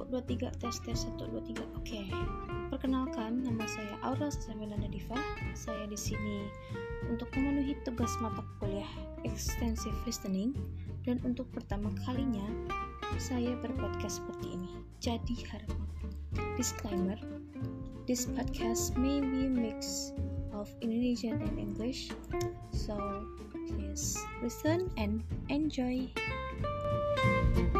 2, 3, tes 1, 2, 3. Oke. Perkenalkan, nama saya Aura Sasamelanda Diva. Saya di sini untuk memenuhi tugas mata kuliah Extensive Listening, dan untuk pertama kalinya saya berpodcast seperti ini. Jadi harap disclaimer, this podcast may be a mix of Indonesian and English, so please listen and enjoy.